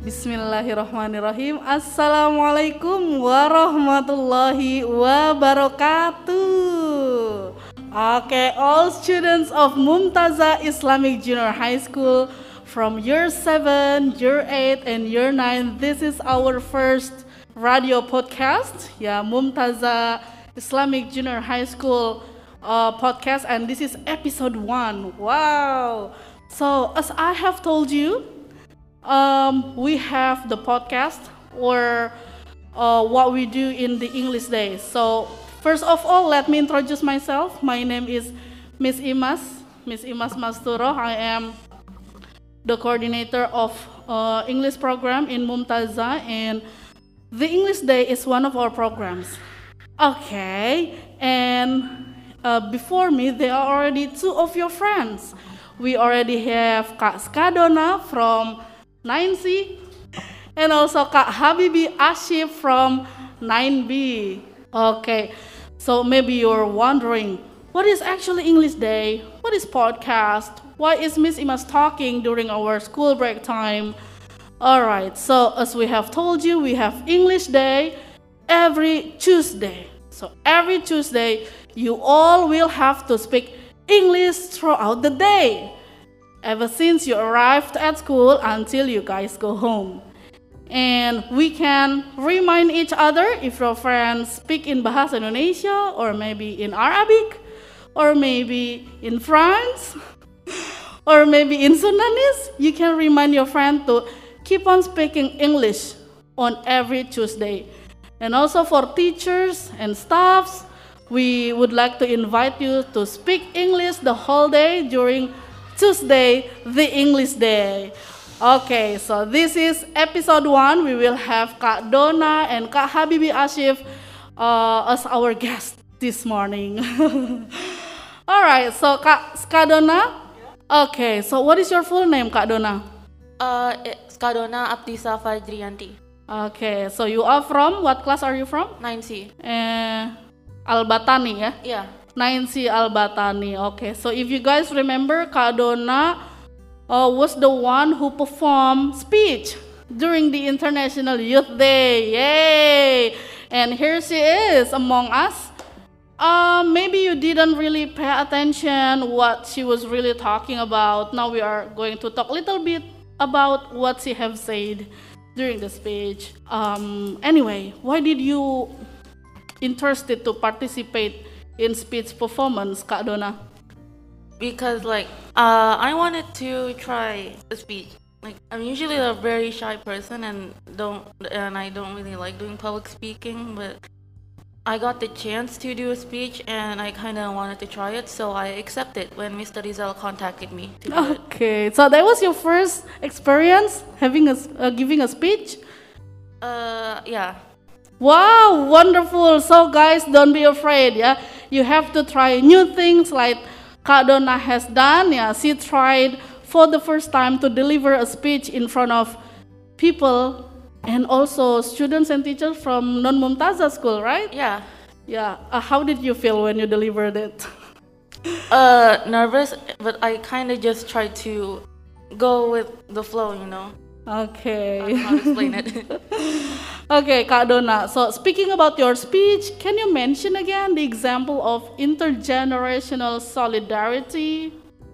Bismillahirrahmanirrahim. Assalamualaikum warahmatullahi wabarakatuh. Okay, all students of Mumtaza Islamic Junior High School from year 7, year 8, and year 9, this is our first radio podcast. Yeah, Mumtaza Islamic Junior High School podcast, and this is episode 1. Wow. So, as I have told you, we have the podcast or what we do in the English Day. So first of all, let me introduce myself. My name is Miss Imas Masturo. I am the coordinator of English program in Mumtaza, and the English Day is one of our programs. Okay, and before me, there are already two of your friends. We already have Kak Skadona from 9C, and also Kak Habibi Ashif from 9B. Okay, so maybe you're wondering, what is actually English Day? What is podcast? Why is Miss Imas talking during our school break time? Alright, so as we have told you, we have English Day every Tuesday. So every Tuesday, you all will have to speak English throughout the day, ever since you arrived at school until you guys go home. And we can remind each other if your friends speak in Bahasa Indonesia, or maybe in Arabic, or maybe in France, or maybe in Sundanese. You can remind your friend to keep on speaking English on every Tuesday. And also for teachers and staffs, we would like to invite you to speak English the whole day during Tuesday, the English Day. Okay, so this is episode 1. We will have Kak Dona and Kak Habibi Ashif as our guests this morning. Alright, so Kak Skadona. Okay, so what is your full name, Kak Dona? Skadona Abdisa Fajriyanti. Okay, so you are from, what class are you from? 9C. Al-Batani, ya? Yeah. 9C Al-Batani. Okay, so if you guys remember, Kak Dona was the one who performed speech during the International Youth Day. Yay! And here she is among us. Maybe you didn't really pay attention what she was really talking about. Now we are going to talk a little bit about what she have said during the speech. Anyway, why did you interested to participate in speech performance, Kak Dona? Because I wanted to try a speech. Like, I'm usually a very shy person and I don't really like doing public speaking, but I got the chance to do a speech and I kind of wanted to try it, so I accepted when Mr. Rizal contacted me to do it. Okay, so that was your first experience having giving a speech? Yeah. Wow, wonderful. So guys, don't be afraid, yeah. You have to try new things like Kak Dona has done. Yeah, she tried for the first time to deliver a speech in front of people and also students and teachers from non-Mumtaza school, right? Yeah. Yeah. How did you feel when you delivered it? Nervous, but I kind of just tried to go with the flow, you know. Okay. I don't know how to explain it. Okay, Kak Dona. So speaking about your speech, can you mention again the example of intergenerational solidarity?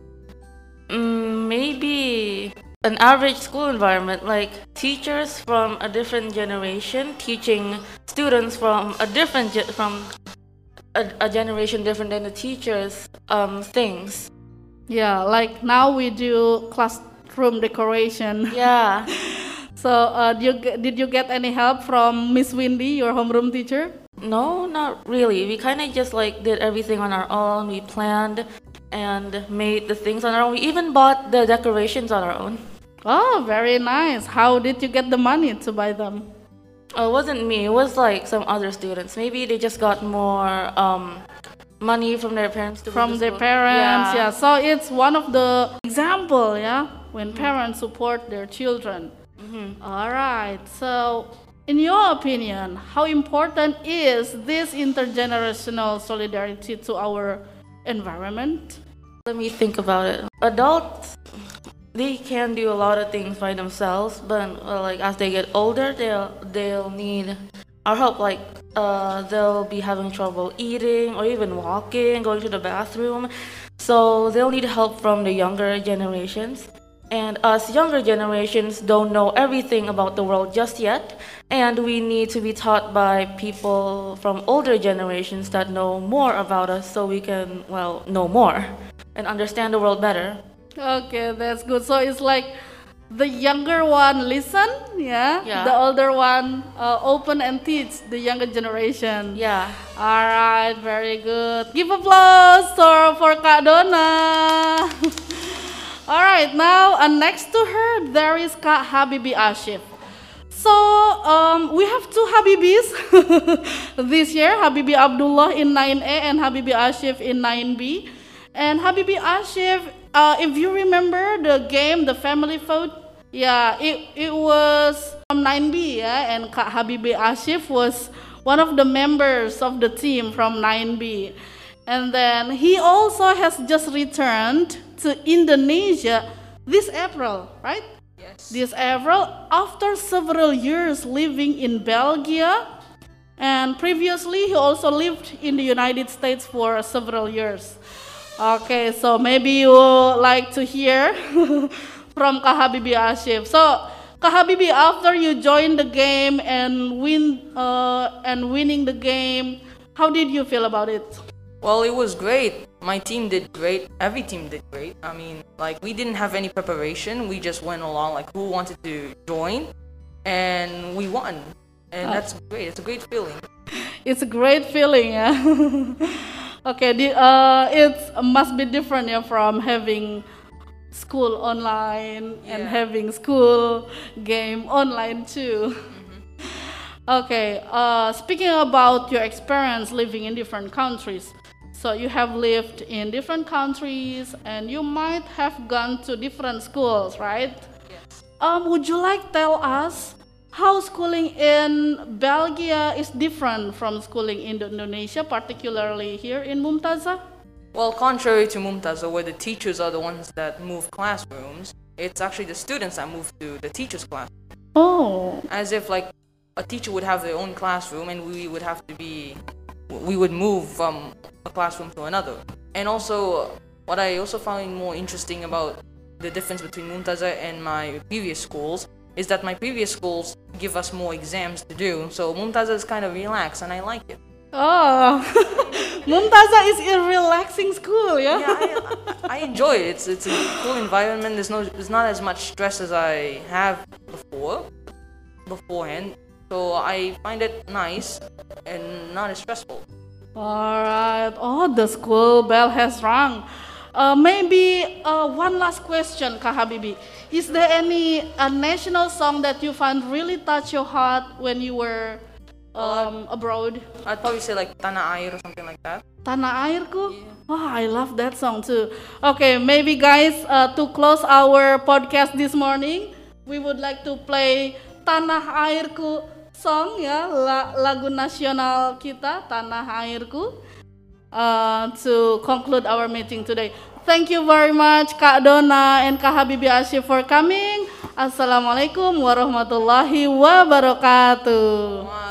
Maybe an average school environment, like teachers from a different generation teaching students from a different a generation different than the teachers things. Yeah, like now we do classroom decoration. Yeah. So did you get any help from Miss Windy, your homeroom teacher? No, not really. We kind of just did everything on our own. We planned and made the things on our own. We even bought the decorations on our own. Oh, very nice. How did you get the money to buy them? It wasn't me. It was some other students. Maybe they just got more money from their parents to from their school. parents. Yeah. Yeah. So it's one of the example, yeah, when parents support their children. All right. So in your opinion, how important is this intergenerational solidarity to our environment? Let me think about it. Adults they can do a lot of things by themselves, but like as they get older, they'll need our help. Like they'll be having trouble eating or even walking, going to the bathroom. So they'll need help from the younger generations. And us younger generations don't know everything about the world just yet, and we need to be taught by people from older generations that know more about us so we can, well, know more and understand the world better. Okay, that's good. So it's like the younger one listen, yeah. Yeah. The older one open and teach the younger generation. Yeah. All right, very good. Give applause for Kak Dona. All right, now next to her there is Kak Habibi Ashif. So we have two Habibis this year, Habibi Abdullah in 9A and Habibi Ashif in 9B. And Habibi Ashif, if you remember the game, the family vote, yeah, it was from 9B, yeah, and Kak Habibi Ashif was one of the members of the team from 9B. And then he also has just returned to Indonesia this April, right? Yes. This April, after several years living in Belgium, and previously he also lived in the United States for several years. Okay, so maybe you would like to hear from Kak Habibi Ashif. So, Kak Habibi, after you joined the game and winning the game, how did you feel about it? Well, it was great. My team did great. Every team did great. I mean, like, we didn't have any preparation. We just went along, like, who wanted to join, and we won. And that's great. It's a great feeling. It's a great feeling, yeah. Okay, it must be different, yeah, from having school online and Yeah. having school game online too. Okay, speaking about your experience living in different countries, so you have lived in different countries and you might have gone to different schools, right? Yes. Would you like tell us how schooling in Belgium is different from schooling in Indonesia, particularly here in Mumtazah? Well, contrary to Mumtaza, where the teachers are the ones that move classrooms, it's actually the students that move to the teacher's class. Oh, As if, like, a teacher would have their own classroom and we would move from a classroom to another. And also, what I also found more interesting about the difference between Mumtaza and my previous schools is that my previous schools give us more exams to do, so Mumtaza is kind of relaxed and I like it. oh, Mumtazah is a relaxing school, yeah? Yeah, I enjoy it. It's a cool environment. There's not as much stress as I have beforehand. So I find it nice and not as stressful. All right. Oh, the school bell has rung. Maybe one last question, Kak Habibi. Is there any national song that you find really touch your heart when you were abroad? I'd probably say like Tanah Air or something like that. Tanah Airku? Oh, I love that song too. Okay, maybe guys, to close our podcast this morning, we would like to play Tanah Airku song, ya, lagu nasional kita, Tanah Airku, to conclude our meeting today. Thank you very much, Kak Dona and Kak Habibi Ashif for coming. Assalamualaikum warahmatullahi wabarakatuh.